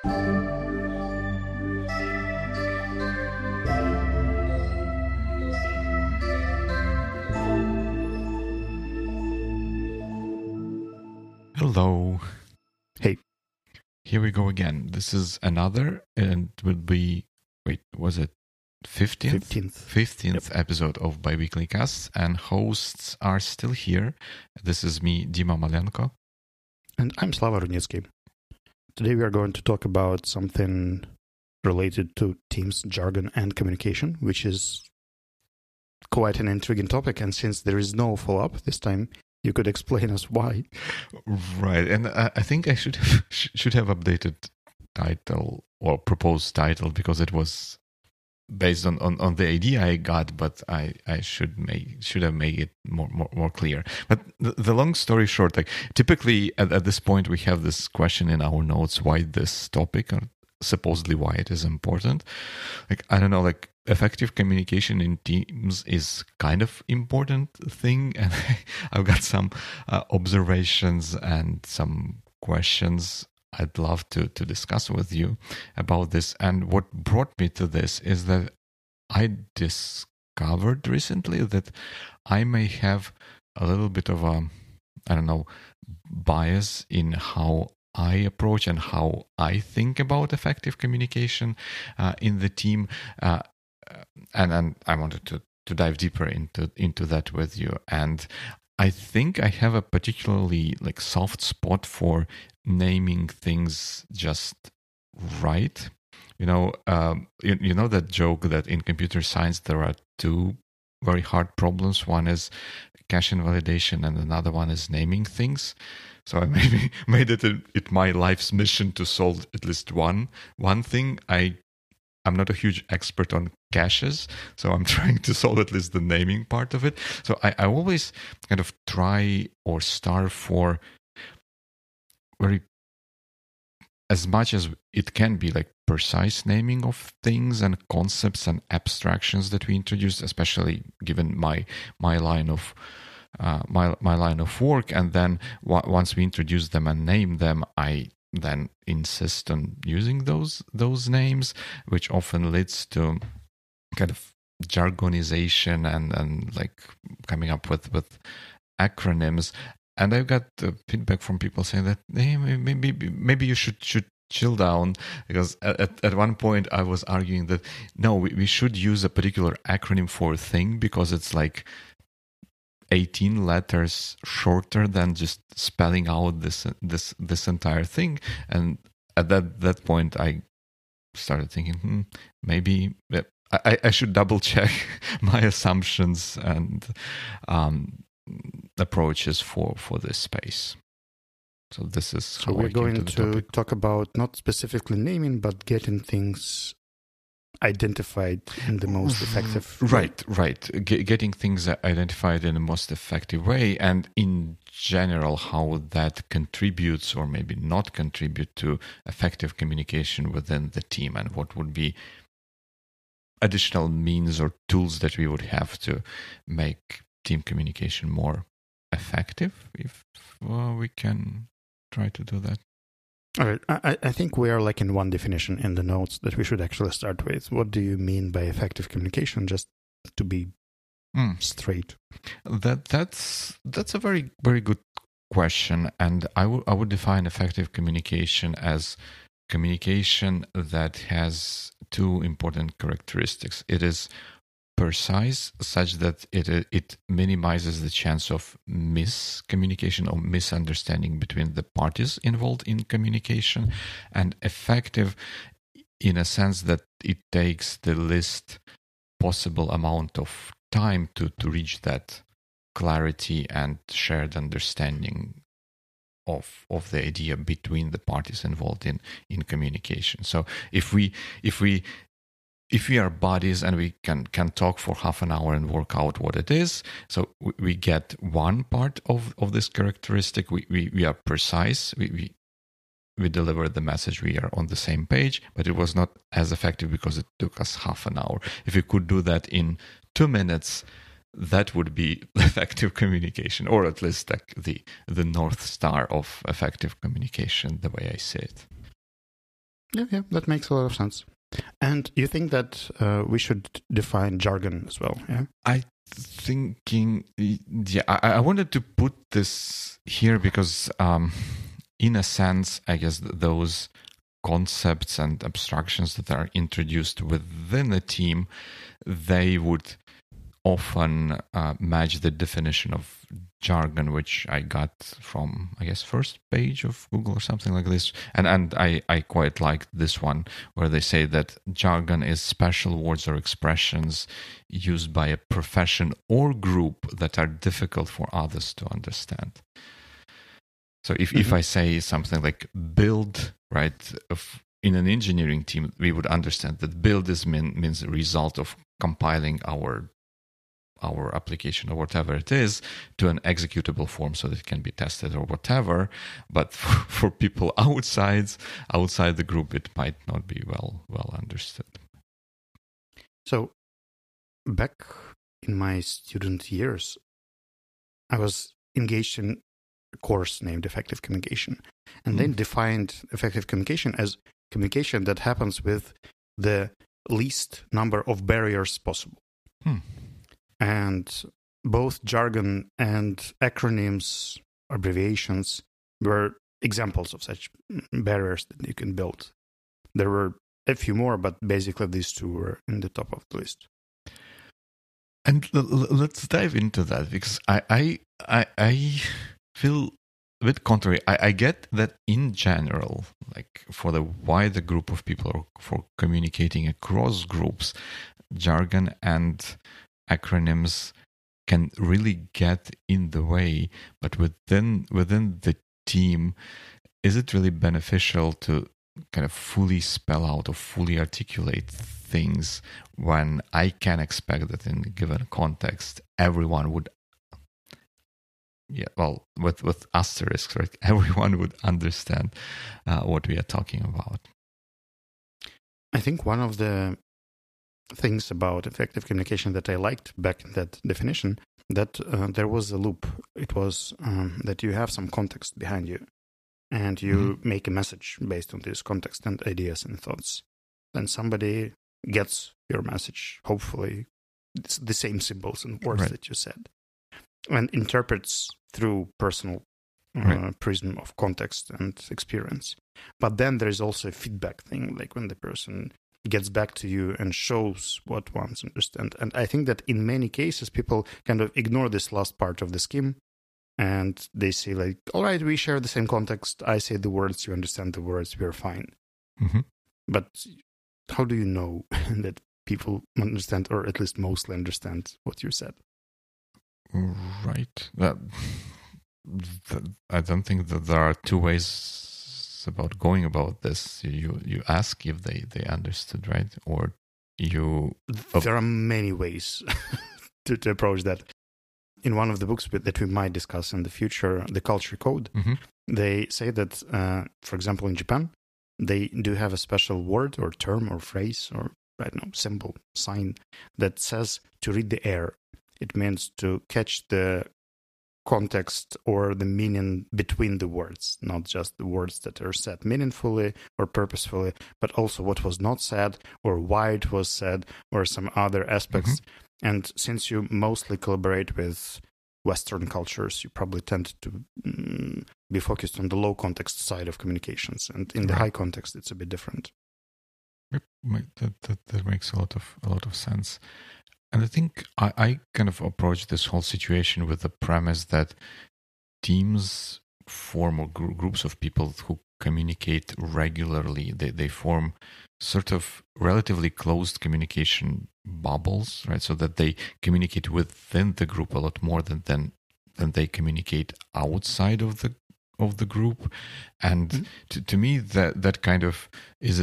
Hello. Hey. Here we go again. This is another, and it will be, was it 15th? 15th episode of Biweekly Casts, and hosts are still here. This is me, Dima Malenko. And I'm Slava Rudnitsky. Today we are going to talk about something related to Teams, jargon, and communication, which is quite an intriguing topic. And since there is no follow-up this time, you could explain us why. Right, and I think I should have updated title or proposed title because it was based on the idea I got, but I should have made it more clear. But the long story short, like typically at this point we have this question in our notes: why this topic, or supposedly why it is important. Like I don't know, like effective communication in Teams is kind of important thing, and I've got some observations and some questions I'd love to discuss with you about this. And what brought me to this is that I discovered recently that I may have a little bit of a, bias in how I approach and how I think about effective communication in the team. And I wanted to dive deeper into that with you. And I think I have a particularly like soft spot for naming things just right. You know that joke that in computer science there are two very hard problems. One is cache invalidation and another one is naming things. So I maybe made it my life's mission to solve at least one thing. I'm not a huge expert on caches, so I'm trying to solve at least the naming part of it. So I always kind of try or starve for very, as much as it can be, like precise naming of things and concepts and abstractions that we introduce, especially given my line of my line of work. And then once we introduce them and name them, I then insist on using those names, which often leads to kind of jargonization and like coming up with acronyms. And I've got feedback from people saying that, hey, maybe you should chill down, because at one point I was arguing that no, we should use a particular acronym for a thing because it's like 18 letters shorter than just spelling out this entire thing. And at that point I started thinking maybe I should double check my assumptions and approaches for this space. So this is so we're going to talk about not specifically naming, but getting things identified in the most effective way. Right. Getting things identified in the most effective way, and in general how that contributes or maybe not contribute to effective communication within the team, and what would be additional means or tools that we would have to make team communication more effective, if we can try to do that. All right. I think we are lacking one definition in the notes that we should actually start with. What do you mean by effective communication, just to be straight? That's a very, very good question. And I would define effective communication as communication that has two important characteristics. It is precise, such that it minimizes the chance of miscommunication or misunderstanding between the parties involved in communication, and effective in a sense that it takes the least possible amount of time to reach that clarity and shared understanding of the idea between the parties involved in communication. So if we are buddies and we can talk for half an hour and work out what it is, so we get one part of this characteristic. We are precise. We deliver the message. We are on the same page, but it was not as effective because it took us half an hour. If we could do that in 2 minutes, that would be effective communication, or at least like the North Star of effective communication, the way I see it. Yeah, that makes a lot of sense. And you think that we should define jargon as well, yeah? I wanted to put this here because in a sense, I guess those concepts and abstractions that are introduced within a team, they would often match the definition of jargon, which I got from, I guess, first page of Google or something like this. And I quite like this one, where they say that jargon is special words or expressions used by a profession or group that are difficult for others to understand. So if I say something like build, right, in an engineering team, we would understand that build means a result of compiling our application or whatever it is to an executable form so that it can be tested or whatever. But for people outside the group, it might not be well understood. So back in my student years, I was engaged in a course named Effective Communication, and then defined effective communication as communication that happens with the least number of barriers possible. And both jargon and acronyms, abbreviations, were examples of such barriers that you can build. There were a few more, but basically these two were in the top of the list. And let's dive into that, because I feel a bit contrary. I get that in general, like for the wider group of people or for communicating across groups, jargon and acronyms can really get in the way. But within the team, is it really beneficial to kind of fully spell out or fully articulate things when I can expect that in a given context everyone would, with asterisks, right? Everyone would understand what we are talking about. I think one of the things about effective communication that I liked back in that definition, that there was a loop. It was that you have some context behind you, and you make a message based on this context and ideas and thoughts. Then somebody gets your message, hopefully it's the same symbols and words that you said, and interprets through personal prism of context and experience. But then there is also a feedback thing, like when the person gets back to you and shows what ones understand. And I think that in many cases, people kind of ignore this last part of the scheme, and they say like, all right, we share the same context. I say the words, you understand the words, we're fine. But how do you know that people understand, or at least mostly understand what you said? Right. I don't think that there are two ways about going about this. You ask if they understood, right? Or you... There are many ways to approach that. In one of the books that we might discuss in the future, The Culture Code, they say that, for example, in Japan, they do have a special word or term or phrase or, I don't know, symbol, sign that says to read the air. It means to catch the context or the meaning between the words, not just the words that are said meaningfully or purposefully, but also what was not said or why it was said or some other aspects. And since you mostly collaborate with Western cultures, you probably tend to be focused on the low context side of communications, and in the high context, it's a bit different. That makes a lot of sense. And I think I kind of approach this whole situation with the premise that teams form, or groups of people who communicate regularly, they form sort of relatively closed communication bubbles, right? So that they communicate within the group a lot more than they communicate outside of the group. And to me, that kind of is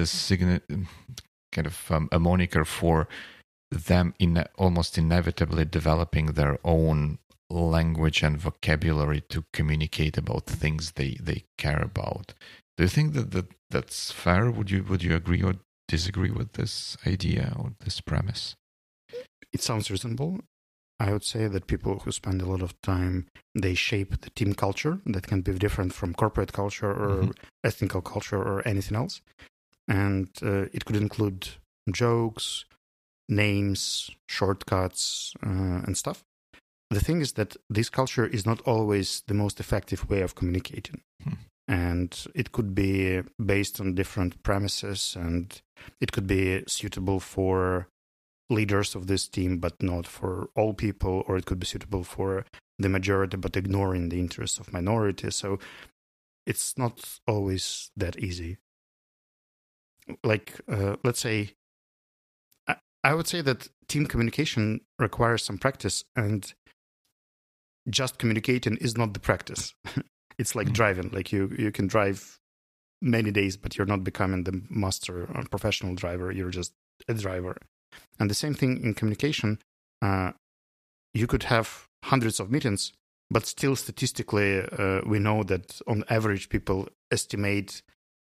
a moniker for them almost inevitably developing their own language and vocabulary to communicate about things they care about. Do you think that's fair? Would you agree or disagree with this idea or this premise? It sounds reasonable. I would say that people who spend a lot of time, they shape the team culture that can be different from corporate culture or ethnical culture or anything else. and it could include jokes, names, shortcuts, and stuff. The thing is that this culture is not always the most effective way of communicating. And it could be based on different premises, and it could be suitable for leaders of this team, but not for all people, or it could be suitable for the majority, but ignoring the interests of minorities. So it's not always that easy. Like, let's say, I would say that team communication requires some practice, and just communicating is not the practice. It's like driving. Like you can drive many days, but you're not becoming the master or professional driver. You're just a driver. And the same thing in communication. You could have hundreds of meetings, but still statistically, we know that on average, people estimate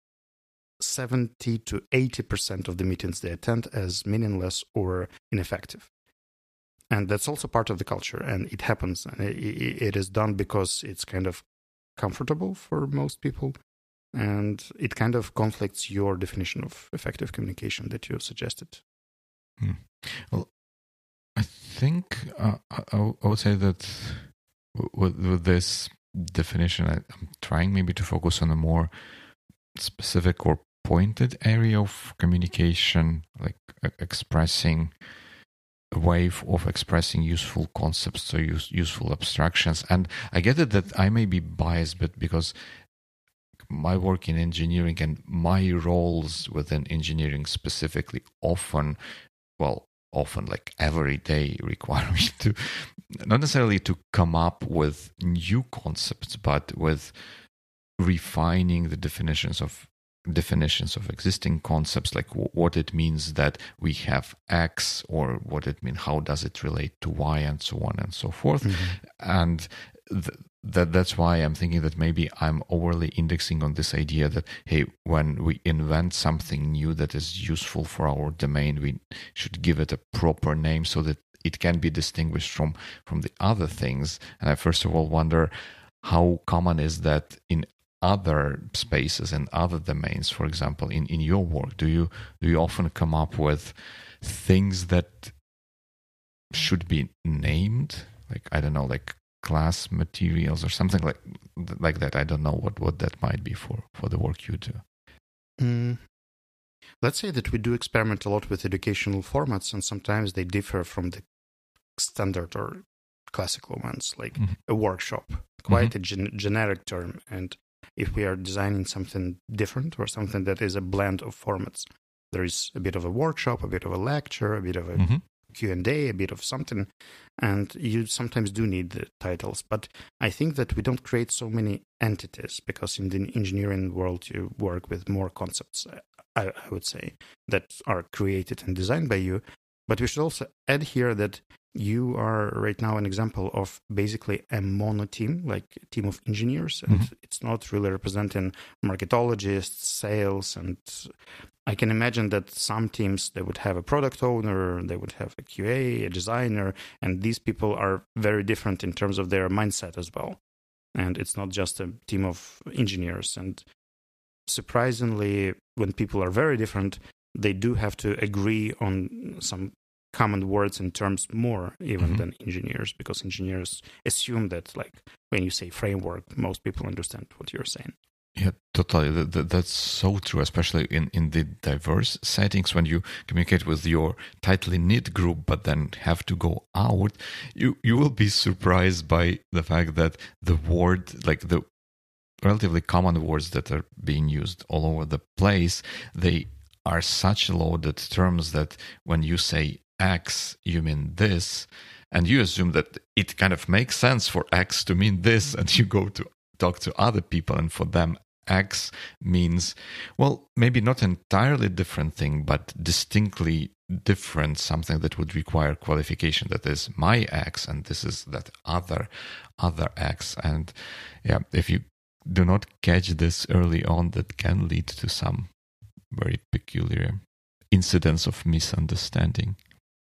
70 to 80% of the meetings they attend as meaningless or ineffective. And that's also part of the culture, and it happens. And it is done because it's kind of comfortable for most people, and it kind of conflicts your definition of effective communication that you suggested. Well, I think I would say that with this definition, I'm trying maybe to focus on a more specific or pointed area of communication, like expressing a way of expressing useful concepts or useful abstractions. And I get it that I may be biased, but because my work in engineering and my roles within engineering specifically often like every day require me to not necessarily to come up with new concepts, but with refining the definitions of existing concepts, like what it means that we have X, or what it means, how does it relate to Y, and so on and so forth. And that's why I'm thinking that maybe I'm overly indexing on this idea that, hey, when we invent something new that is useful for our domain, we should give it a proper name so that it can be distinguished from the other things. And I first of all wonder, how common is that in other spaces and other domains? For example, in your work, do you often come up with things that should be named, like, I don't know, like class materials or something like that? I don't know what that might be for the work you do. Let's say that we do experiment a lot with educational formats, and sometimes they differ from the standard or classical ones, like a workshop, quite a generic term. And if we are designing something different or something that is a blend of formats, there is a bit of a workshop, a bit of a lecture, a bit of a Q&A, a bit of something, and you sometimes do need the titles. But I think that we don't create so many entities, because in the engineering world you work with more concepts, I would say, that are created and designed by you. But we should also add here that you are right now an example of basically a mono team, like a team of engineers, and it's not really representing marketologists, sales, and I can imagine that some teams, they would have a product owner, they would have a QA, a designer, and these people are very different in terms of their mindset as well. And it's not just a team of engineers. And surprisingly, when people are very different, they do have to agree on some common words and terms more even than engineers, because engineers assume that, like, when you say framework, most people understand what you're saying. Yeah, totally. That's so true, especially in the diverse settings. When you communicate with your tightly knit group, but then have to go out, you will be surprised by the fact that the word, like the relatively common words that are being used all over the place, they are such loaded terms that when you say X, you mean this, and you assume that it kind of makes sense for X to mean this, and you go to talk to other people, and for them X means, well, maybe not entirely different thing, but distinctly different, something that would require qualification. That is my X, and this is that other X. And yeah, if you do not catch this early on, that can lead to some very peculiar incidents of misunderstanding.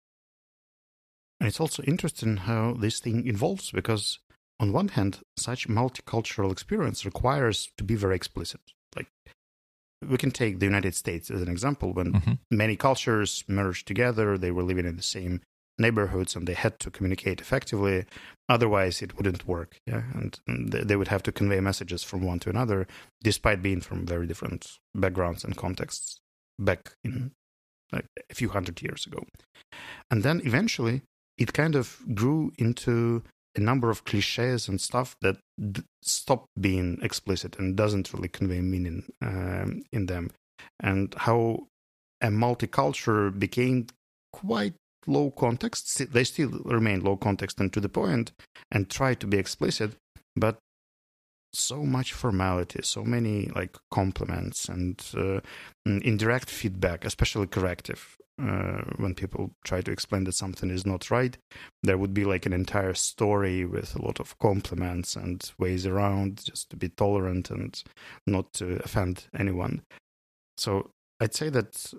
And it's also interesting how this thing evolves, because on one hand, such multicultural experience requires to be very explicit. Like, we can take the United States as an example. When many cultures merged together, they were living in the same neighborhoods and they had to communicate effectively. Otherwise, it wouldn't work. Yeah, and they would have to convey messages from one to another, despite being from very different backgrounds and contexts back in like a few hundred years ago. And then eventually, it kind of grew into a number of cliches and stuff that stopped being explicit and doesn't really convey meaning in them. And how a multicultural became quite low context. They still remain low context and to the point and try to be explicit, but so much formality, so many like compliments and indirect feedback, especially corrective. When people try to explain that something is not right, there would be like an entire story with a lot of compliments and ways around just to be tolerant and not to offend anyone. So I'd say that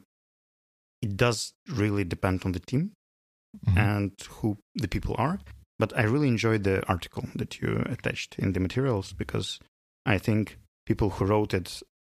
it does really depend on the team and who the people are. But I really enjoyed the article that you attached in the materials because I think people who wrote it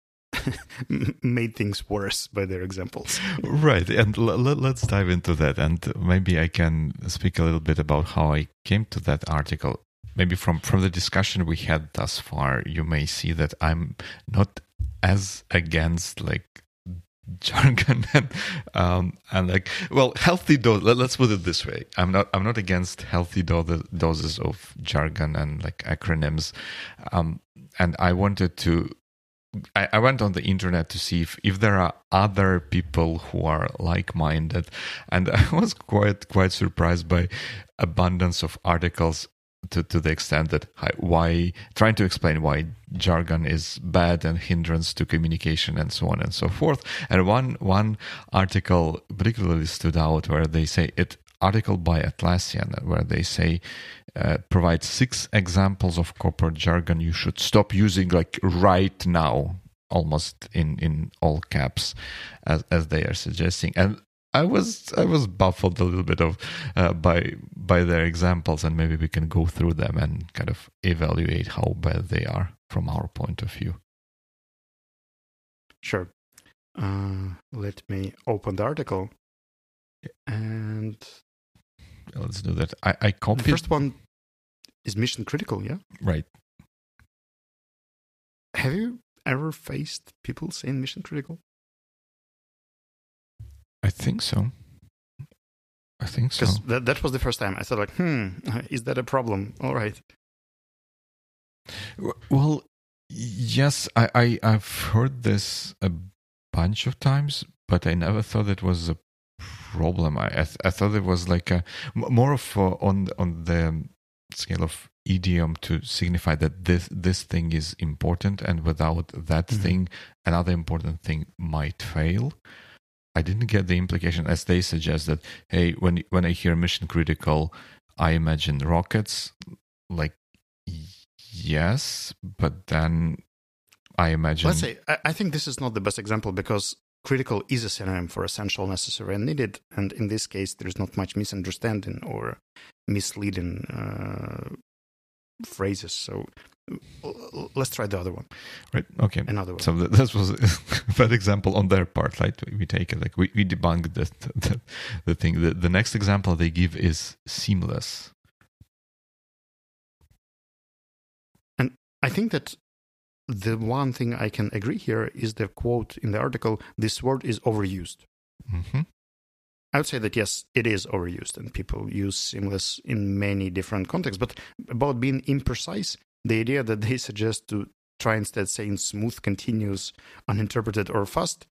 made things worse by their examples. Right. And let's dive into that. And maybe I can speak a little bit about how I came to that article. Maybe from the discussion we had thus far, you may see that I'm not as against like jargon and like, well, healthy dose. Let's put it this way: I'm not against healthy doses of jargon and like acronyms. And I wanted to. I went on the internet to see if there are other people who are like-minded, and I was quite surprised by abundance of articles to the extent that why trying to explain why jargon is bad and hindrance to communication and so on and so forth. And one article particularly stood out where they say article by Atlassian where they say provide 6 examples of corporate jargon you should stop using like right now, almost in all caps as they are suggesting. And I was baffled a little bit of by their examples, and maybe we can go through them and kind of evaluate how bad they are from our point of view. Sure. Let me open the article, and let's do that. I copied. The first one is mission critical. Yeah. Right. Have you ever faced people saying mission critical? I think so. Because that was the first time I thought like, is that a problem? All right. Well, yes, I've heard this a bunch of times, but I never thought it was a problem. I thought it was like a more of on the scale of idiom to signify that this thing is important, and without that thing, another important thing might fail. I didn't get the implication, as they suggest, that, hey, when I hear mission critical, I imagine rockets. Like, yes, but then I imagine... Let's say, I think this is not the best example because critical is a synonym for essential, necessary, and needed. And in this case, there's not much misunderstanding or misleading phrases. So let's try the other one. Right. Okay. Another one. So this was a bad example on their part. Right. We take it like we debunk the thing. The next example they give is seamless. And I think that the one thing I can agree here is the quote in the article, this word is overused. Mm-hmm. I would say that, yes, it is overused and people use seamless in many different contexts. But about being imprecise, the idea that they suggest to try instead saying smooth, continuous, uninterpreted, or fast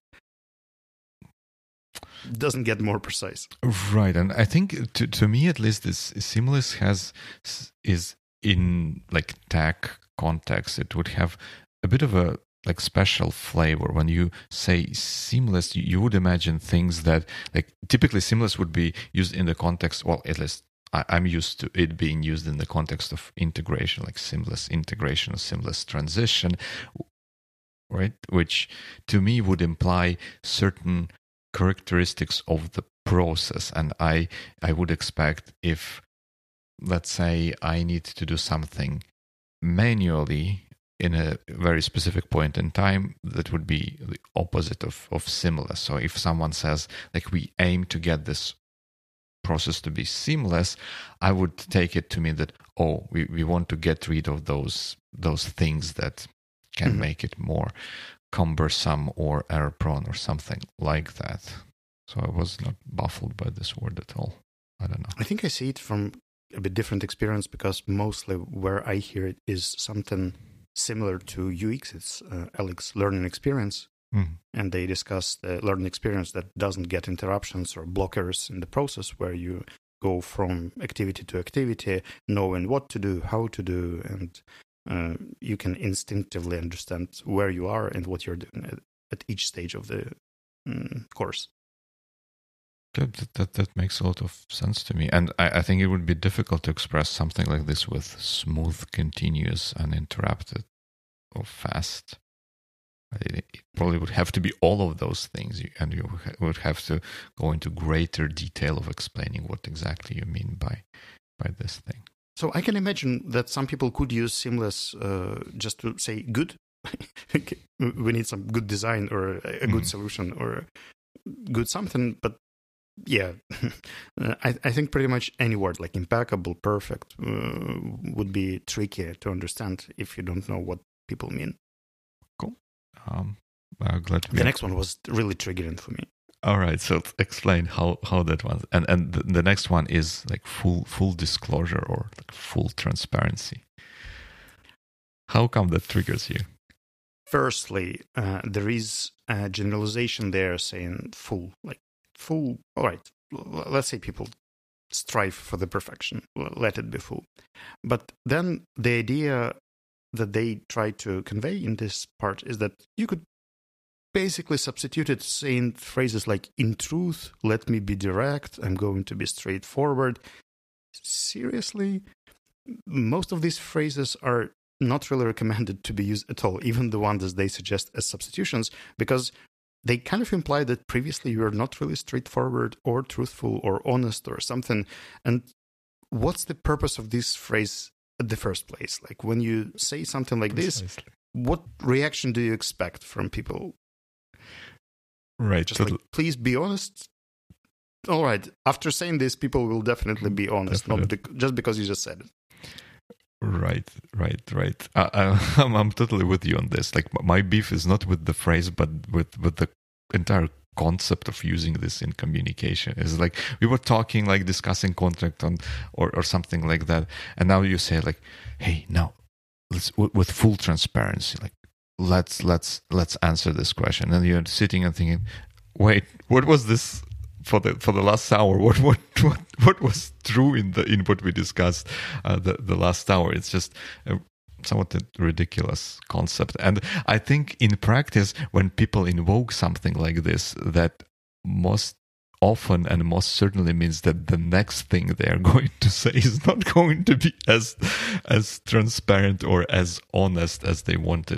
doesn't get more precise. Right. And I think to me, at least, this seamless is in like tech context, it would have a bit of a like special flavor. When you say seamless, you would imagine things that like typically seamless would be used in the context, well, at least I'm used to it being used in the context of integration, like seamless integration or seamless transition, right? Which to me would imply certain characteristics of the process. And I would expect if, let's say, I need to do something manually in a very specific point in time, that would be the opposite of seamless. So if someone says, like, we aim to get this process to be seamless, I would take it to mean that, we want to get rid of those things that can make it more cumbersome or error prone or something like that. So I was not baffled by this word at all. I don't know. I think I see it from a bit different experience, because mostly where I hear it is something similar to UX. It's Alex learning experience. And they discuss the learning experience that doesn't get interruptions or blockers in the process, where you go from activity to activity, knowing what to do, how to do, and you can instinctively understand where you are and what you're doing at each stage of the course. That makes a lot of sense to me. And I think it would be difficult to express something like this with smooth, continuous, uninterrupted, or fast. It probably would have to be all of those things, and you would have to go into greater detail of explaining what exactly you mean by this thing. So I can imagine that some people could use seamless just to say good. We need some good design or a good solution or good something. But yeah, I think pretty much any word like impeccable, perfect would be tricky to understand if you don't know what people mean. Cool. Glad to the next one was really triggering for me. All right, so explain how that one, and the next one is like full disclosure or like full transparency. How come that triggers you? Firstly, there is a generalization there saying full. All right, let's say people strive for the perfection. Let it be full. But then the idea that they try to convey in this part is that you could basically substitute it saying phrases like, in truth, let me be direct, I'm going to be straightforward. Seriously? Most of these phrases are not really recommended to be used at all, even the ones they suggest as substitutions, because they kind of imply that previously you were not really straightforward or truthful or honest or something. And what's the purpose of this phrase at the first place? Like, when you say something like this, what reaction do you expect from people? Right. Just like, please be honest. All right. After saying this, people will definitely be honest, not just because you just said it. Right. I'm totally with you on this. Like, my beef is not with the phrase, but with the entire concept of using this in communication. Is like, we were talking, like discussing contract or something like that, and now you say like, hey, now let's with full transparency, like let's answer this question, and you're sitting and thinking, wait, what was this for the last hour? What was true in what we discussed the last hour? It's just somewhat a ridiculous concept. And I think in practice, when people invoke something like this, that most often and most certainly means that the next thing they're going to say is not going to be as transparent or as honest as they wanted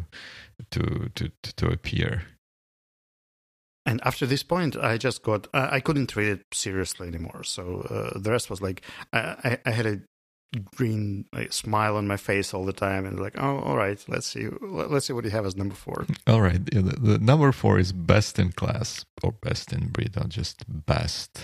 to appear. And after this point, I just I couldn't read it seriously anymore. So the rest was like, I had a green smile on my face all the time, and like, oh, all right, let's see what you have as number 4. All right, yeah, the number 4 is best in class or best in breed, or just best.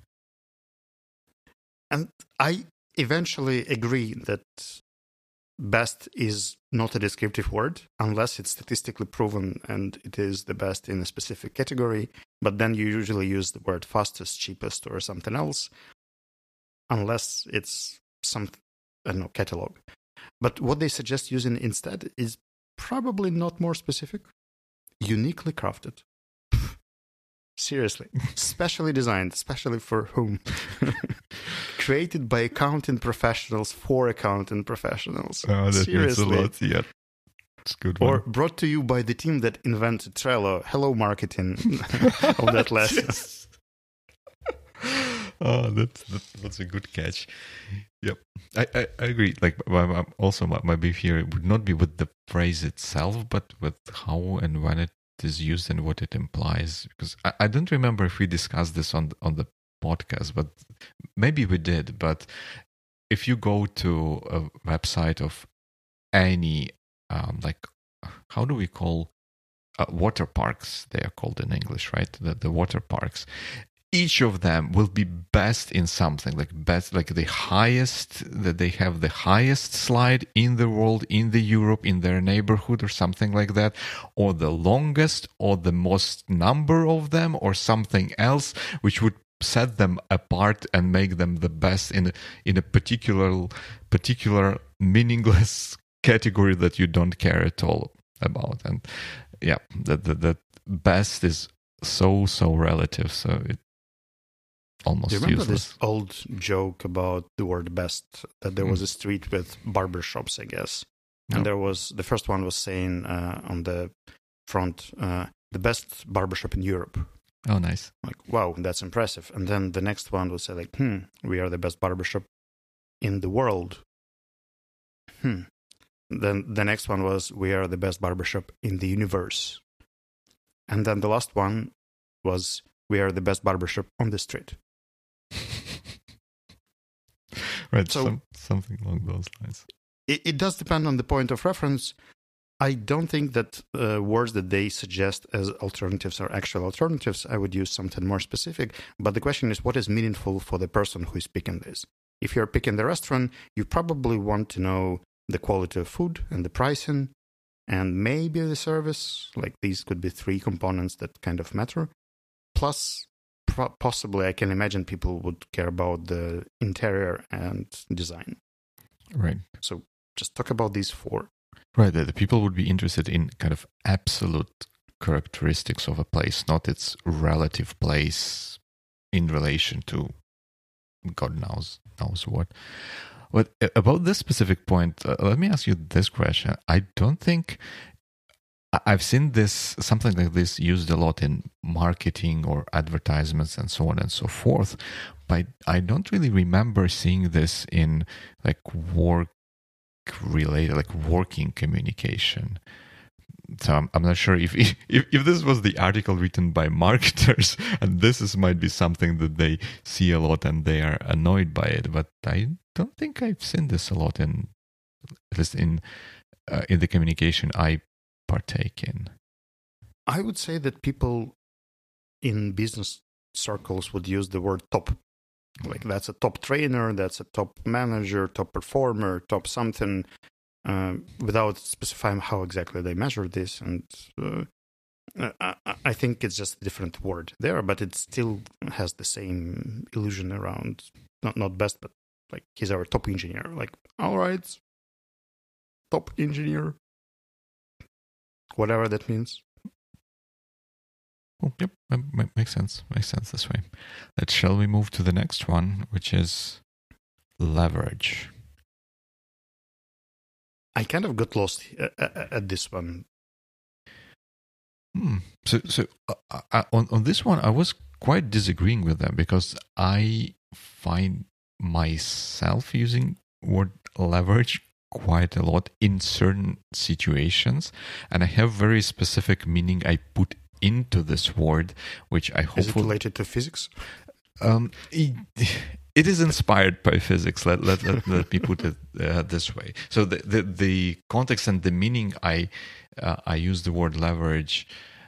And I eventually agree that best is not a descriptive word unless it's statistically proven and it is the best in a specific category. But then you usually use the word fastest, cheapest, or something else, unless it's some, I don't know, catalog. But what they suggest using instead is probably not more specific. Uniquely crafted. Seriously. Specially designed. Specially for whom? Created by accounting professionals for accounting professionals. Oh, that Seriously. means a lot, yeah. It's a good one. Or brought to you by the team that invented Trello. Hello, marketing of that lesson. Yes. Oh, that's a good catch. Yep, I agree. Like, also my beef here would not be with the phrase itself, but with how and when it is used and what it implies. Because I don't remember if we discussed this on the podcast, but maybe we did. But if you go to a website of any like, how do we call water parks? They are called in English, right? The water parks. Each of them will be best in something, like best, like the highest, that they have the highest slide in the world, in the Europe, in their neighborhood, or something like that, or the longest, or the most number of them, or something else, which would set them apart and make them the best in a particular meaningless category that you don't care at all about. And yeah, that best is so relative, so it almost Do you remember useless. this old joke about the word best? That there was a street with barber shops, I guess. And there was, the first one was saying on the front, the best barbershop in Europe. Oh, nice. Like, wow, that's impressive. And then the next one would say like, we are the best barbershop in the world. Then the next one was, we are the best barbershop in the universe. And then the last one was, we are the best barbershop on the street. Right, so something along those lines. It does depend on the point of reference. I don't think that words that they suggest as alternatives are actual alternatives. I would use something more specific. But the question is, what is meaningful for the person who is picking this? If you're picking the restaurant, you probably want to know the quality of food and the pricing and maybe the service. Like, these could be 3 components that kind of matter. Plus, possibly, I can imagine people would care about the interior and design. Right. So just talk about these 4. Right. The people would be interested in kind of absolute characteristics of a place, not its relative place in relation to God knows what. But about this specific point, let me ask you this question. I don't think I've seen this, something like this, used a lot in marketing or advertisements and so on and so forth, but I don't really remember seeing this in like work related, like working communication. So I'm not sure if this was the article written by marketers, and this might be something that they see a lot and they are annoyed by it. But I don't think I've seen this a lot in, at least in the communication I partake in. I would say that people in business circles would use the word top. Like, that's a top trainer, that's a top manager, top performer, top something, without specifying how exactly they measure this. And I think it's just a different word there, but it still has the same illusion around, not best, but like, he's our top engineer. Like, all right, top engineer, whatever that means. Oh, yep, makes sense. Makes sense this way. Shall we move to the next one, which is leverage? I kind of got lost at this one. So on this one, I was quite disagreeing with them because I find myself using word leverage quite a lot in certain situations, and I have very specific meaning I put into this word, which I hope is it related to physics. It is inspired by physics. Let me put it this way. So the context and the meaning I use the word leverage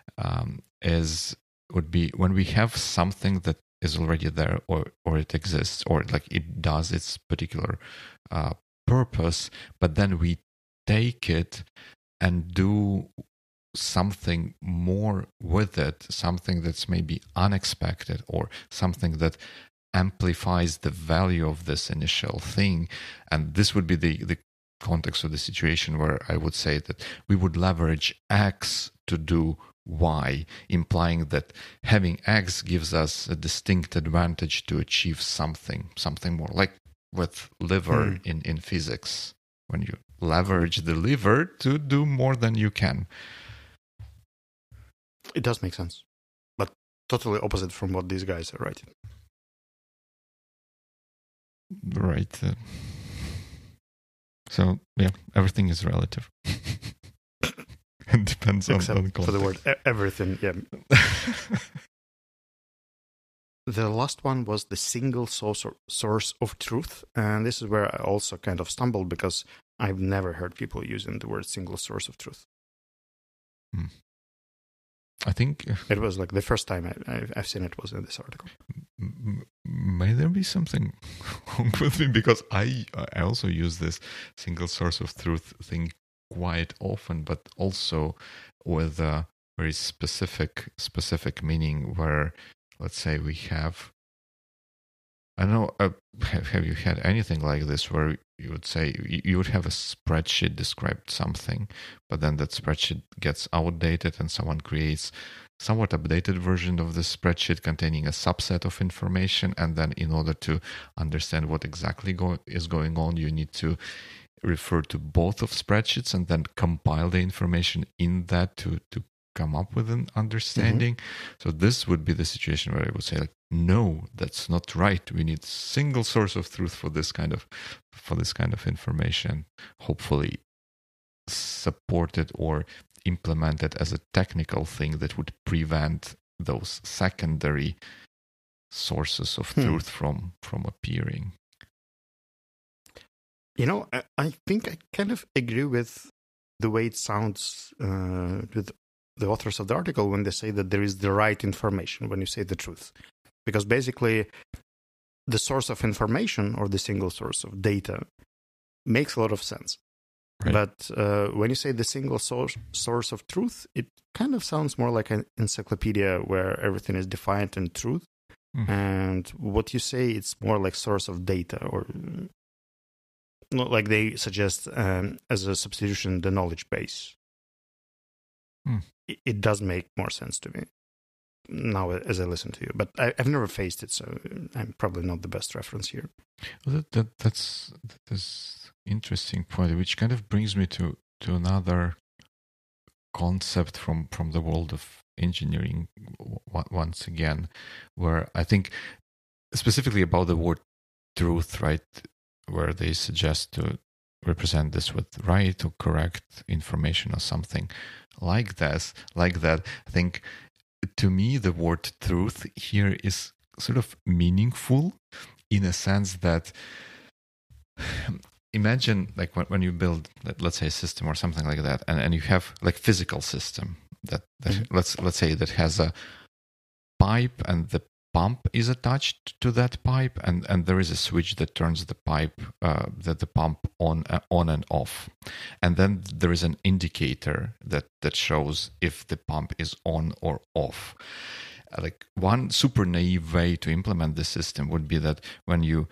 would be when we have something that is already there, or it exists, or like it does its particular purpose, but then we take it and do something more with it, something that's maybe unexpected, or something that amplifies the value of this initial thing. And this would be the context of the situation where I would say that we would leverage X to do Y, implying that having X gives us a distinct advantage to achieve something more, like with liver in physics, when you leverage the liver to do more than you can. It does make sense, but totally opposite from what these guys are writing. Right. So, yeah, everything is relative. It depends on context. For the word everything, yeah. The last one was the single source of truth. And this is where I also kind of stumbled, because I've never heard people using the word single source of truth. I think it was like the first time I've seen it was in this article. May there be something wrong with me, because I also use this single source of truth thing quite often, but also with a very specific meaning where, let's say, we have, I don't know, have you had anything like this where you would say you would have a spreadsheet described something, but then that spreadsheet gets outdated and someone creates somewhat updated version of the spreadsheet containing a subset of information, and then in order to understand what exactly is going on, you need to refer to both of spreadsheets and then compile the information in that to come up with an understanding. So this would be the situation where I would say, like, no, that's not right. We need single source of truth for this kind of information, hopefully supported or implemented as a technical thing that would prevent those secondary sources of truth from appearing. You know, I think I kind of agree with the way it sounds with the authors of the article when they say that there is the right information when you say the truth. Because basically, the source of information or the single source of data makes a lot of sense. Right. But when you say the single source of truth, it kind of sounds more like an encyclopedia where everything is defined in truth. And what you say, it's more like source of data, or like they suggest as a substitution, the knowledge base. It does make more sense to me now as I listen to you, but I've never faced it, so I'm probably not the best reference here. Well, that's interesting point, which kind of brings me to another concept from the world of engineering once again, where I think specifically about the word truth, right, where they suggest to represent this with right or correct information or something like that. I think, to me, the word truth here is sort of meaningful in a sense that, imagine like when you build, let's say, a system or something like that, and you have like physical system that let's say that has a pipe, and the pump is attached to that pipe, and there is a switch that turns the pipe, the pump on and off, and then there is an indicator that shows if the pump is on or off. Like, one super naive way to implement the system would be that when you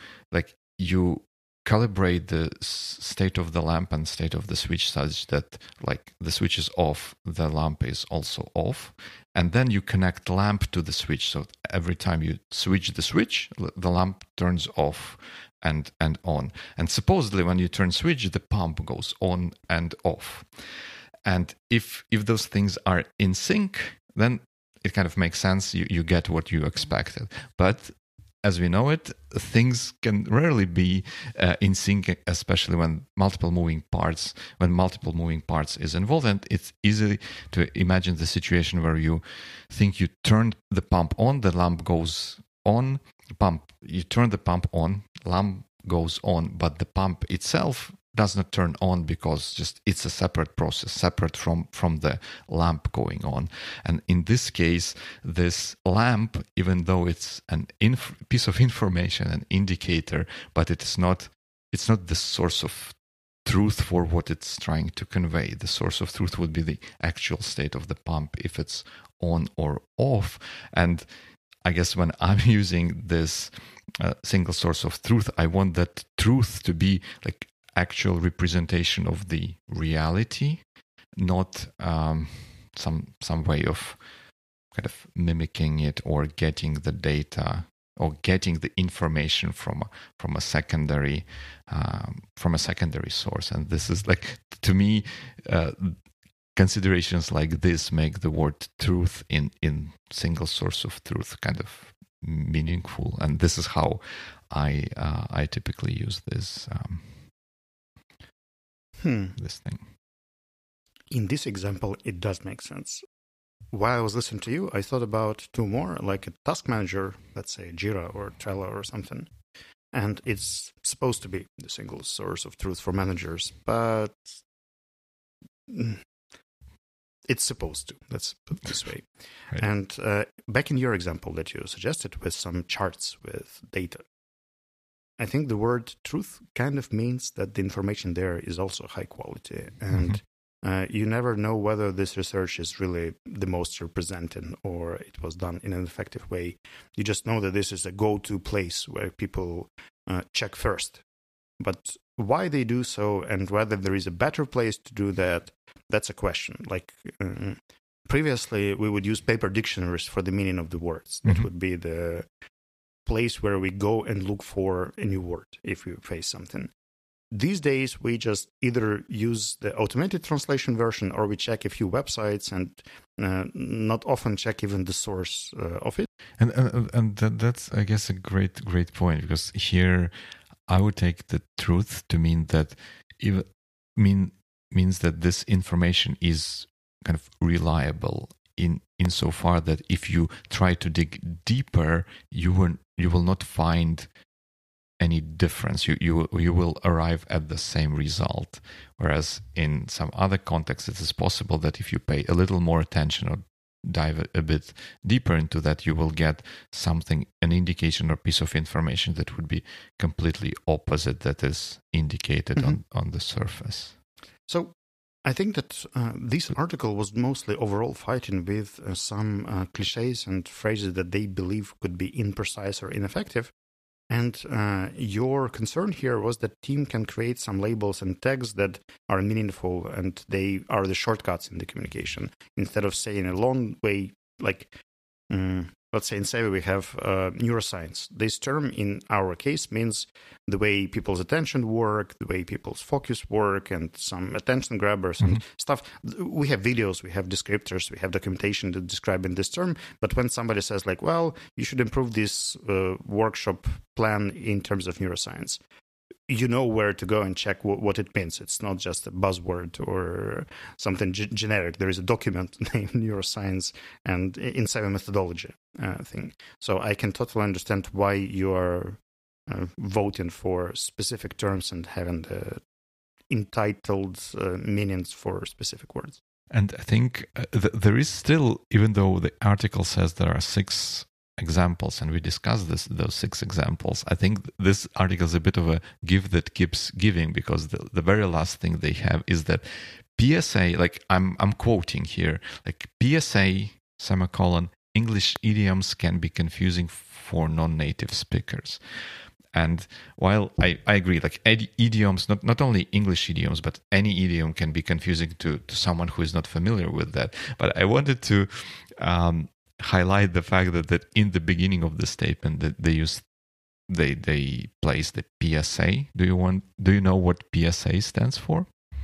calibrate the state of the lamp and state of the switch such that, like, the switch is off, the lamp is also off, and then you connect lamp to the switch, so every time you switch the switch, the lamp turns off and on, and supposedly when you turn switch, the pump goes on and off. And if those things are in sync, then it kind of makes sense, you get what you expected. But as we know it, things can rarely be in sync, especially when multiple moving parts is involved. And it's easy to imagine the situation where you think you turned the pump on, the lamp goes on, you turn the pump on, lamp goes on, but the pump itself does not turn on because just it's a separate process, separate from the lamp going on. And in this case, this lamp, even though it's an piece of information, an indicator, but it's not the source of truth for what it's trying to convey. The source of truth would be the actual state of the pump, if it's on or off. And I guess when I'm using this single source of truth, I want that truth to be like actual representation of the reality, not some way of kind of mimicking it or getting the data or getting the information from a secondary source. And this is, like, to me, considerations like this make the word truth in single source of truth kind of meaningful. And this is how I typically use this. This thing. In this example, it does make sense. While I was listening to you, I thought about two more, like a task manager, let's say Jira or Trello or something. And it's supposed to be the single source of truth for managers, but it's supposed to. Let's put it this way. Right. And back in your example that you suggested with some charts with data, I think the word truth kind of means that the information there is also high quality. And you never know whether this research is really the most representing or it was done in an effective way. You just know that this is a go-to place where people check first. But why they do so and whether there is a better place to do that, that's a question. Like previously, we would use paper dictionaries for the meaning of the words. That would be the place where we go and look for a new word if we face something. These days, we just either use the automated translation version or we check a few websites and not often check even the source of it. And that's, I guess, a great point, because here I would take the truth to mean that means that this information is kind of reliable insofar that if you try to dig deeper, you will not find any difference. You will arrive at the same result. Whereas in some other contexts, it is possible that if you pay a little more attention or dive a bit deeper into that, you will get something, an indication or piece of information that would be completely opposite that is indicated on the surface. So I think that this article was mostly overall fighting with some cliches and phrases that they believe could be imprecise or ineffective. And your concern here was that team can create some labels and tags that are meaningful and they are the shortcuts in the communication. Instead of saying a long way, like let's say in Savvy we have neuroscience. This term in our case means the way people's attention work, the way people's focus work, and some attention grabbers and stuff. We have videos, we have descriptors, we have documentation that describing this term. But when somebody says like, well, you should improve this workshop plan in terms of neuroscience, you know where to go and check what it means. It's not just a buzzword or something generic. There is a document named neuroscience and in Savvy methodology thing. So I can totally understand why you are voting for specific terms and having the entitled meanings for specific words. And I think there is still, even though the article says there are 6 examples, and we discussed those 6 examples, I think this article is a bit of a give that keeps giving, because the very last thing they have is that PSA, like I'm quoting here, like PSA, semicolon, English idioms can be confusing for non-native speakers. And while I agree, like idioms, not only English idioms, but any idiom can be confusing to someone who is not familiar with that. But I wanted to highlight the fact that in the beginning of the statement that they place the PSA. Do you know what PSA stands for?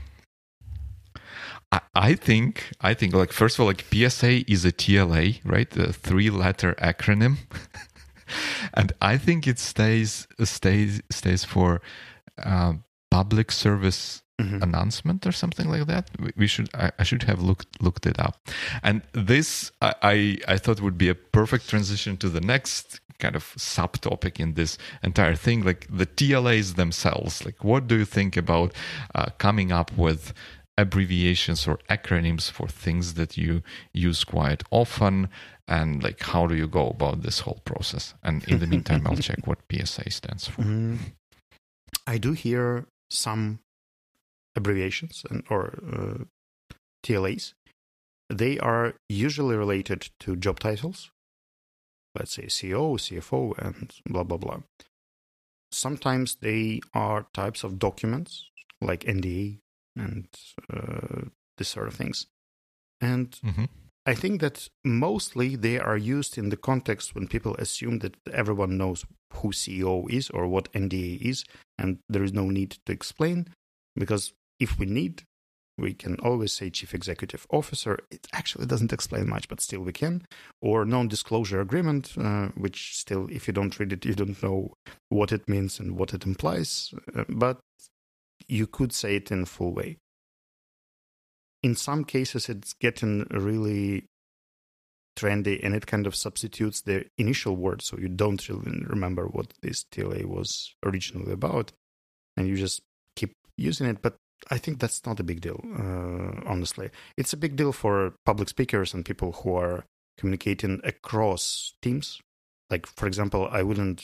I think like, first of all, like PSA is a TLA, right? The 3-letter acronym. And I think it stays for public service announcement or something like that. I should have looked it up. And this I thought would be a perfect transition to the next kind of subtopic in this entire thing, like the TLAs themselves. Like, what do you think about coming up with abbreviations or acronyms for things that you use quite often, and like how do you go about this whole process? And in the meantime, I'll check what PSA stands for. I do hear some abbreviations or TLAs. They are usually related to job titles. Let's say CEO, CFO, and blah, blah, blah. Sometimes they are types of documents like NDA and this sort of things. And I think that mostly they are used in the context when people assume that everyone knows who CEO is or what NDA is, and there is no need to explain, because if we need, we can always say Chief Executive Officer. It actually doesn't explain much, but still we can. Or non-disclosure agreement, which still, if you don't read it, you don't know what it means and what it implies. But you could say it in a full way. In some cases, it's getting really trendy, and it kind of substitutes the initial word, so you don't really remember what this TLA was originally about, and you just keep using it. But I think that's not a big deal, honestly. It's a big deal for public speakers and people who are communicating across teams. Like, for example, I wouldn't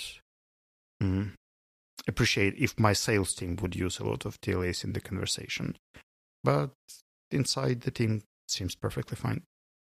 appreciate if my sales team would use a lot of TLAs in the conversation. But inside the team, it seems perfectly fine.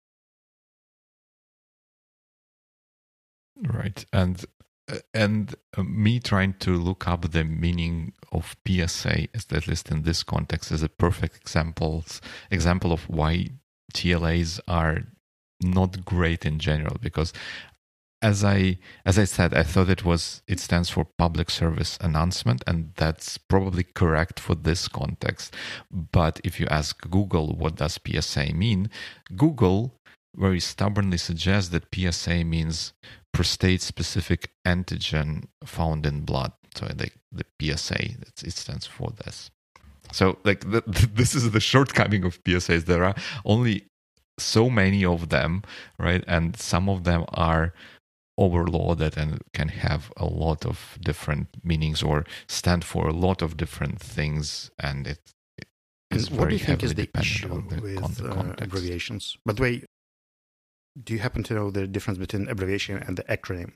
Right. And me trying to look up the meaning of PSA, at least in this context, is a perfect example of why TLAs are not great in general. Because as I said, I thought it stands for public service announcement, and that's probably correct for this context. But if you ask Google what does PSA mean, Google very stubbornly suggests that PSA means prostate-specific antigen found in blood. So the PSA, it stands for this. So this is the shortcoming of PSAs. There are only so many of them, right? And some of them are overloaded and can have a lot of different meanings or stand for a lot of different things. And it is what do very you think is heavily the dependent issue on the with context. abbreviations? By the way, do you happen to know the difference between abbreviation and the acronym?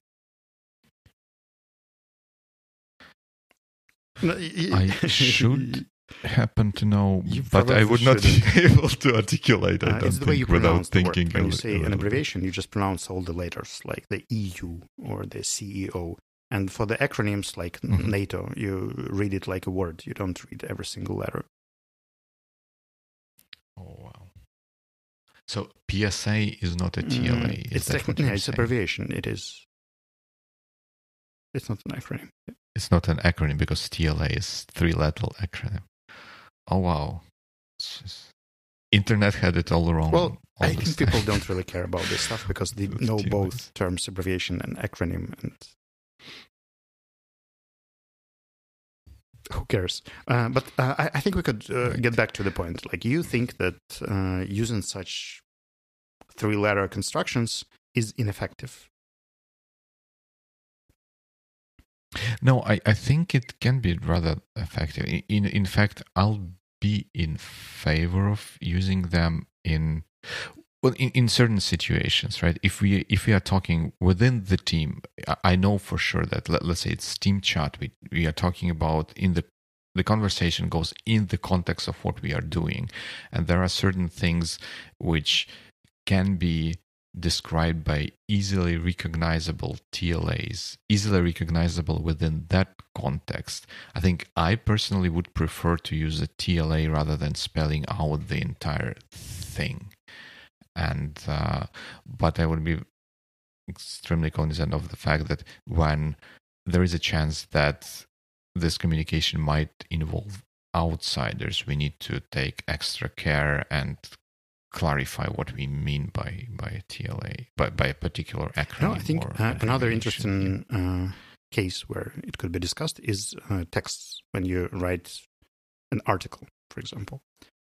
I should happen to know, You but I probably would not be shouldn't. able to articulate. I don't It's the way you think without pronounce the word. thinking. When you a say an little bit. abbreviation, you just pronounce all the letters, like the EU or the CEO. And for the acronyms, like NATO, you read it like a word. You don't read every single letter. Oh wow! So PSA is not a TLA. It's technically it's abbreviation. It is. It's not an acronym. It's not an acronym because TLA is 3-letter acronym. Oh wow! Internet had it all wrong. Well, I think people don't really care about this stuff because they know TLA. both terms, abbreviation and acronym, and who cares? But I think we could get back to the point. Like, you think that using such 3-letter constructions is ineffective. No, I think it can be rather effective. In fact, I'll be in favor of using them in certain situations, right? If we are talking within the team, I know for sure that let's say it's team chat, we are talking about in the conversation goes in the context of what we are doing, and there are certain things which can be described by easily recognizable TLAs, easily recognizable within that context. I think I personally would prefer to use a TLA rather than spelling out the entire thing. And but I would be extremely cognizant of the fact that when there is a chance that this communication might involve outsiders, we need to take extra care and clarify what we mean by a TLA, by a particular acronym. No, I think another abbreviation. interesting case where it could be discussed is texts when you write an article, for example.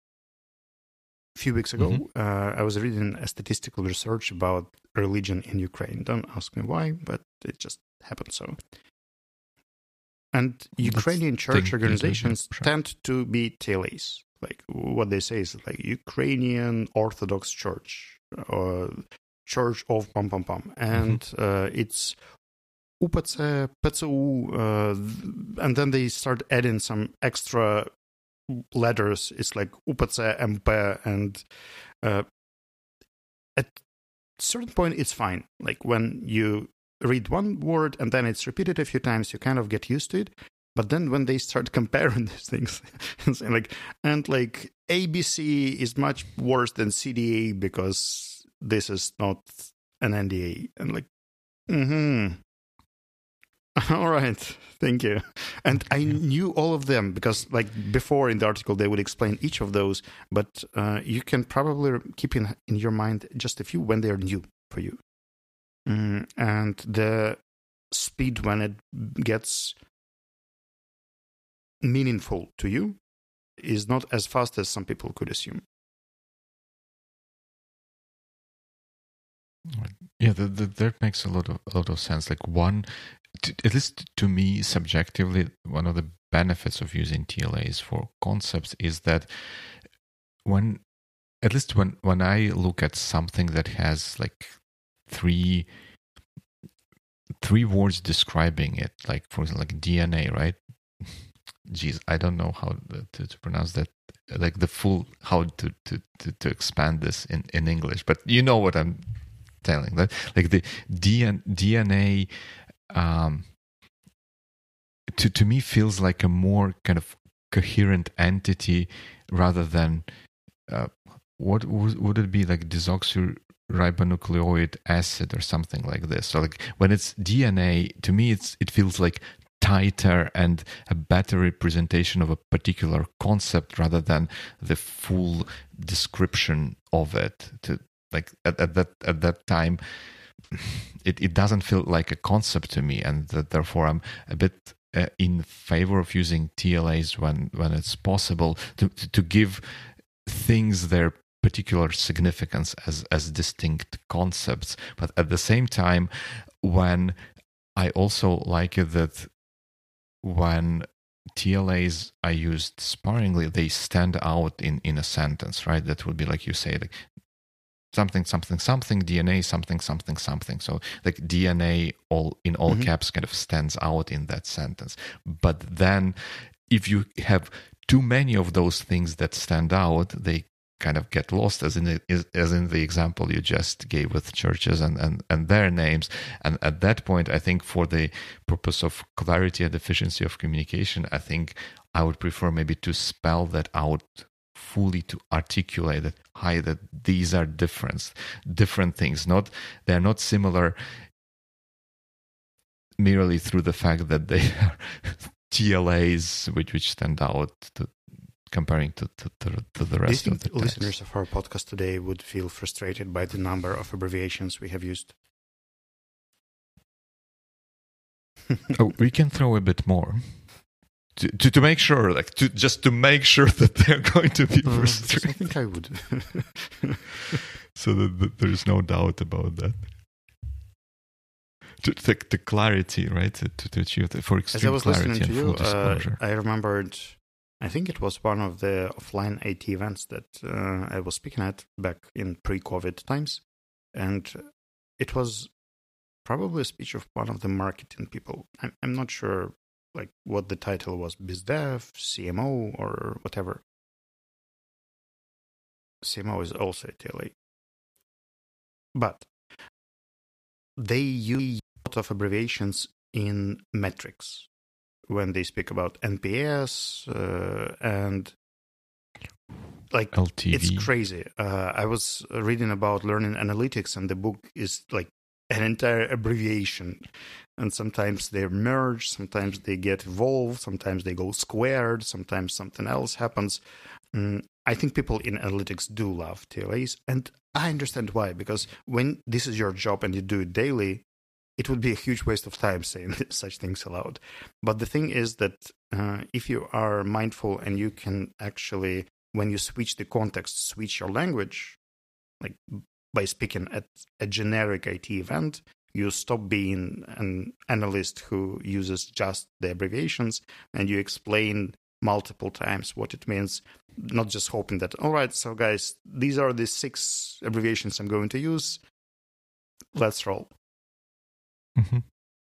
A few weeks ago, I was reading a statistical research about religion in Ukraine. Don't ask me why, but it just happened so. And Ukrainian church organizations tend to be TLAs. Like, what they say is like Ukrainian Orthodox Church, or Church of Pam Pam Pam. And it's UPC, PCU, and then they start adding some extra letters. It's like UPC, MP, and at a certain point, it's fine. Like, when you read one word and then it's repeated a few times, you kind of get used to it. But then when they start comparing these things, like ABC is much worse than CDA because this is not an NDA. And like, all right, thank you. And I knew all of them because, like, before in the article they would explain each of those. But you can probably keep in your mind just a few when they are new for you. And the speed when it gets meaningful to you is not as fast as some people could assume. Yeah, that makes a lot of sense. Like at least to me, subjectively, one of the benefits of using TLAs for concepts is that when I look at something that has like three words describing it, like for example, like DNA, right? Geez, I don't know how to pronounce that, like the full, how to expand this in English, but you know what I'm telling, that like the DNA to me feels like a more kind of coherent entity rather than what would it be, like desoxyribonucleic acid or something like this. So like when it's DNA, to me it feels like tighter and a better representation of a particular concept rather than the full description of it. To like at that time, it doesn't feel like a concept to me, and therefore I'm a bit in favor of using TLAs when it's possible to give things their particular significance as distinct concepts. But at the same time, when I also like it that when TLAs are used sparingly, they stand out in a sentence, right? That would be like you say, like something something something DNA something something something. So like DNA all caps kind of stands out in that sentence. But then if you have too many of those things that stand out, they kind of get lost, as in the example you just gave with churches and their names. And at that point, I think for the purpose of clarity and efficiency of communication, I think I would prefer maybe to spell that out fully, to articulate that that these are different things. They're not similar merely through the fact that they are TLAs which stand out comparing to the rest of the text. Listeners of our podcast today would feel frustrated by the number of abbreviations we have used. We can throw a bit more to make sure, like to make sure that they're going to be frustrated. I think I would. So that there's no doubt about that. The clarity, right? To achieve for extreme clarity and full disclosure. I remembered, I think it was one of the offline IT events that I was speaking at back in pre-COVID times. And it was probably a speech of one of the marketing people. I'm not sure like what the title was, BizDev, CMO, or whatever. CMO is also a TLA. But they use a lot of abbreviations in metrics when they speak about NPS and like LTV. It's crazy. I was reading about learning analytics, and the book is like an entire abbreviation. And sometimes they're merged, sometimes they get evolved, sometimes they go squared, sometimes something else happens. I think people in analytics do love TLAs, and I understand why, because when this is your job and you do it daily, it would be a huge waste of time saying such things aloud. But the thing is that if you are mindful and you can actually, when you switch the context, switch your language, like by speaking at a generic IT event, you stop being an analyst who uses just the abbreviations, and you explain multiple times what it means, not just hoping that, all right, so guys, these are the 6 abbreviations I'm going to use. Let's roll. Mm-hmm.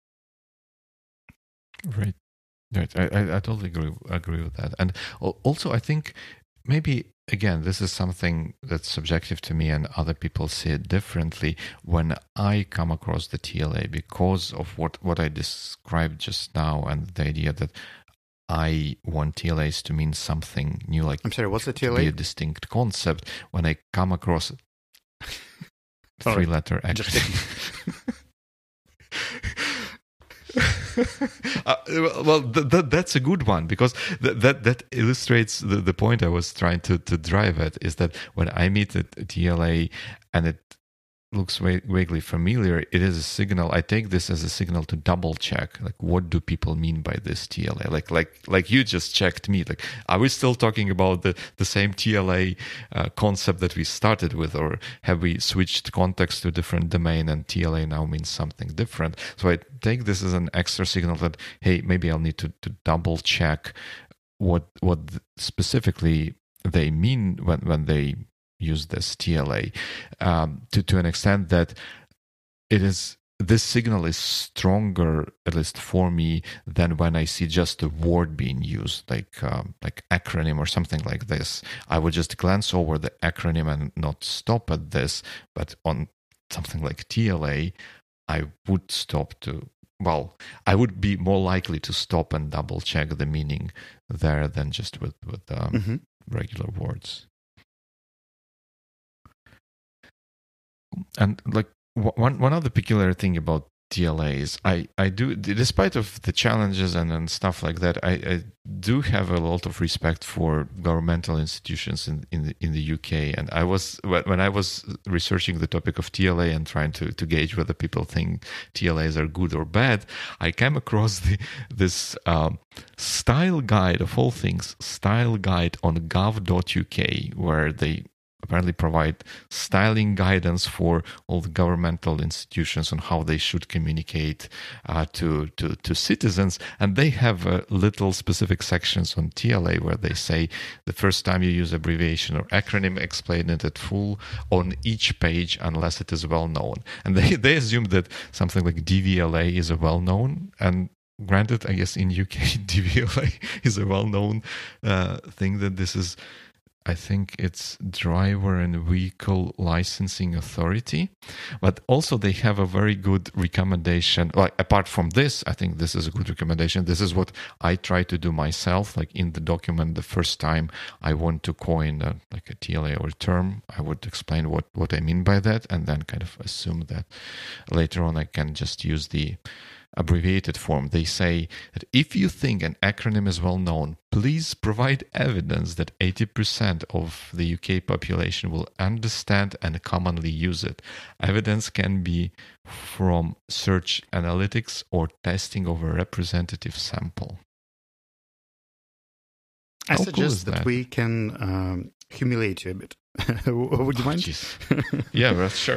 Right. I totally agree with that. And also, I think maybe, again, this is something that's subjective to me and other people see it differently. When I come across the TLA, because of what I described just now, and the idea that I want TLAs to mean something new, like, I'm sorry, what's the TLA? To be a distinct concept. When I come across 3-letter action. Well, that's a good one, because that illustrates the point I was trying to drive at, is that when I meet a TLA and it looks vaguely familiar, it is a signal. I take this as a signal to double check, like, what do people mean by this TLA? Like you just checked me. Like, are we still talking about the same TLA concept that we started with, or have we switched context to a different domain and TLA now means something different? So I take this as an extra signal that, hey, maybe I'll need to double check what specifically they mean when they use this TLA, to an extent that this signal is stronger, at least for me, than when I see just a word being used, like acronym or something like this. I would just glance over the acronym and not stop at this, but on something like TLA, I would stop to. Well, I would be more likely to stop and double check the meaning there than just with regular words. And like one other peculiar thing about TLA is I do, despite of the challenges and stuff like that, I do have a lot of respect for governmental institutions in the UK. And when I was researching the topic of TLA and trying to gauge whether people think TLAs are good or bad, I came across this style guide, of all things, style guide on gov.uk, where they apparently provide styling guidance for all the governmental institutions on how they should communicate to citizens. And they have little specific sections on TLA where they say the first time you use abbreviation or acronym, explain it at full on each page unless it is well known. And they assume that something like DVLA is a well known, and granted, I guess in UK DVLA is a well known thing, that this is, I think it's Driver and Vehicle Licensing Authority. But also they have a very good recommendation. Like, apart from this, I think this is a good recommendation. This is what I try to do myself. Like, in the document, the first time I want to coin a TLA or term, I would explain what I mean by that, and then kind of assume that later on I can just use the abbreviated form. They say that if you think an acronym is well known, please provide evidence that 80% of the UK population will understand and commonly use it. Evidence can be from search analytics or testing of a representative sample. I suggest that we can humiliate you a bit. Would you mind? Yeah, well, sure.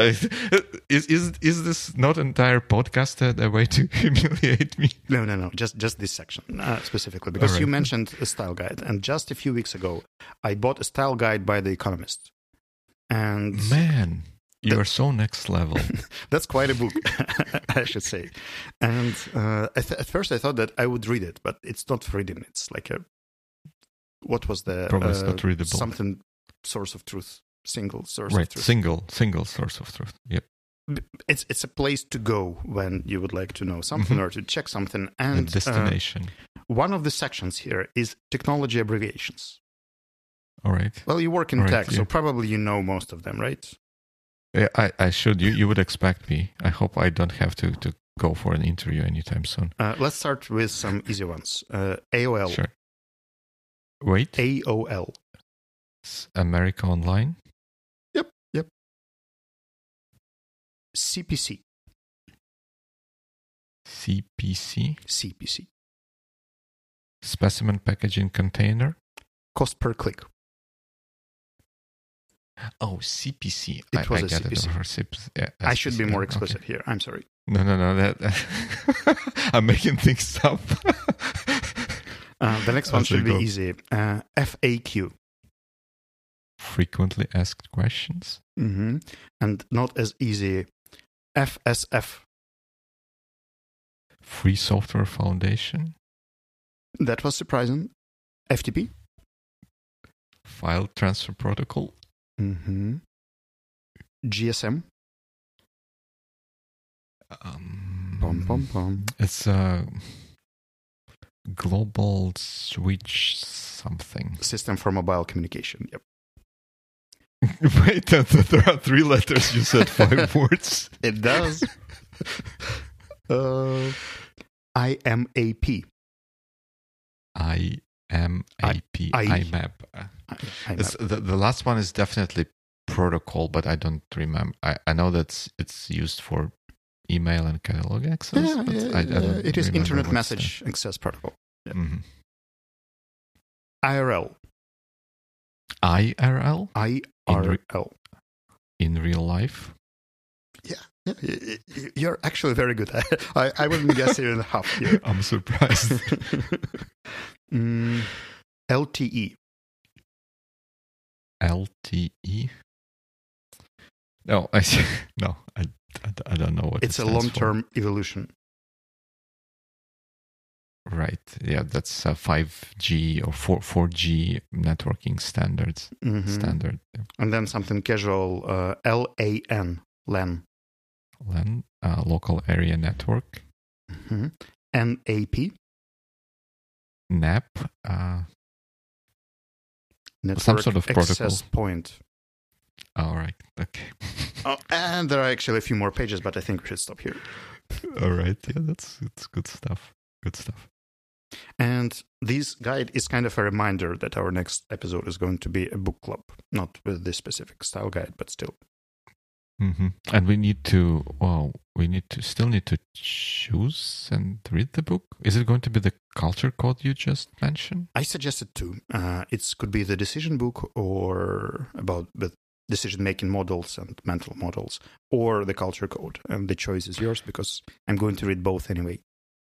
Is this not entire podcast a way to humiliate me? No. Just this section specifically, because right. You mentioned a style guide, and just a few weeks ago, I bought a style guide by The Economist. And man, you are so next level. That's quite a book, I should say. And at first, I thought that I would read it, but it's not for reading. It's like what was the probably it's not readable. Something source of truth, single source right. of truth. Single source of truth. Yep. It's a place to go when you would like to know something or to check something. And a destination. One of the sections here is technology abbreviations. All right. Well, you work in tech, so probably you know most of them, right? Yeah, I should. You would expect me. I hope I don't have to go for an interview anytime soon. Let's start with some easy ones. AOL. Sure. Wait. AOL. America Online? Yep. CPC. CPC? Specimen Packaging Container? Cost per click. Oh, CPC. It was a CPC. I should be more explicit here. I'm sorry. No. I'm making things up. The next one should be easy. FAQ. Frequently asked questions. Mm-hmm. And not as easy. FSF. Free Software Foundation. That was surprising. FTP. File Transfer Protocol. Mm-hmm. GSM. It's a global switch something. System for mobile communication. Yep. Wait, there are 3 letters. You said 5 words. It does. IMAP. IMAP. IMAP. The last one is definitely protocol, but I don't remember. I know that it's used for email and catalog access. Yeah, but I don't it is remember Internet what's Message Access Protocol. the- Yeah. Mhm. IRL. IRL IRL. in real life. Yeah, you're actually very good at it. I wouldn't guess even half here. I'm surprised. LTE. LTE. No, no, I don't know what It's it a stands long-term evolution. for. Right. Yeah, that's a 5G or 4G networking standards. Mhm. Standard. Yeah. And then something casual, LAN. LAN. LAN, local area network. Mhm. NAP. NAP. Network Some sort of access protocol. point. All right. Okay. Oh, and there are actually a few more pages, but I think we should stop here. All right. Yeah, that's good stuff. Good stuff. And this guide is kind of a reminder that our next episode is going to be a book club, not with this specific style guide, but still. Mm-hmm. And we need to still need to choose and read the book. Is it going to be the culture code you just mentioned? I suggested two. It could be the decision book or about the decision-making models and mental models, or the culture code. And the choice is yours because I'm going to read both anyway.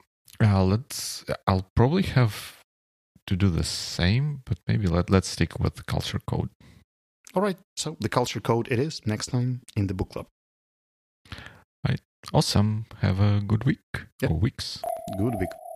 I'll probably have to do the same, but maybe let's stick with the culture code. All right, so the culture code it is next time in the book club. Awesome. Have a good week Yep. or weeks. Good week.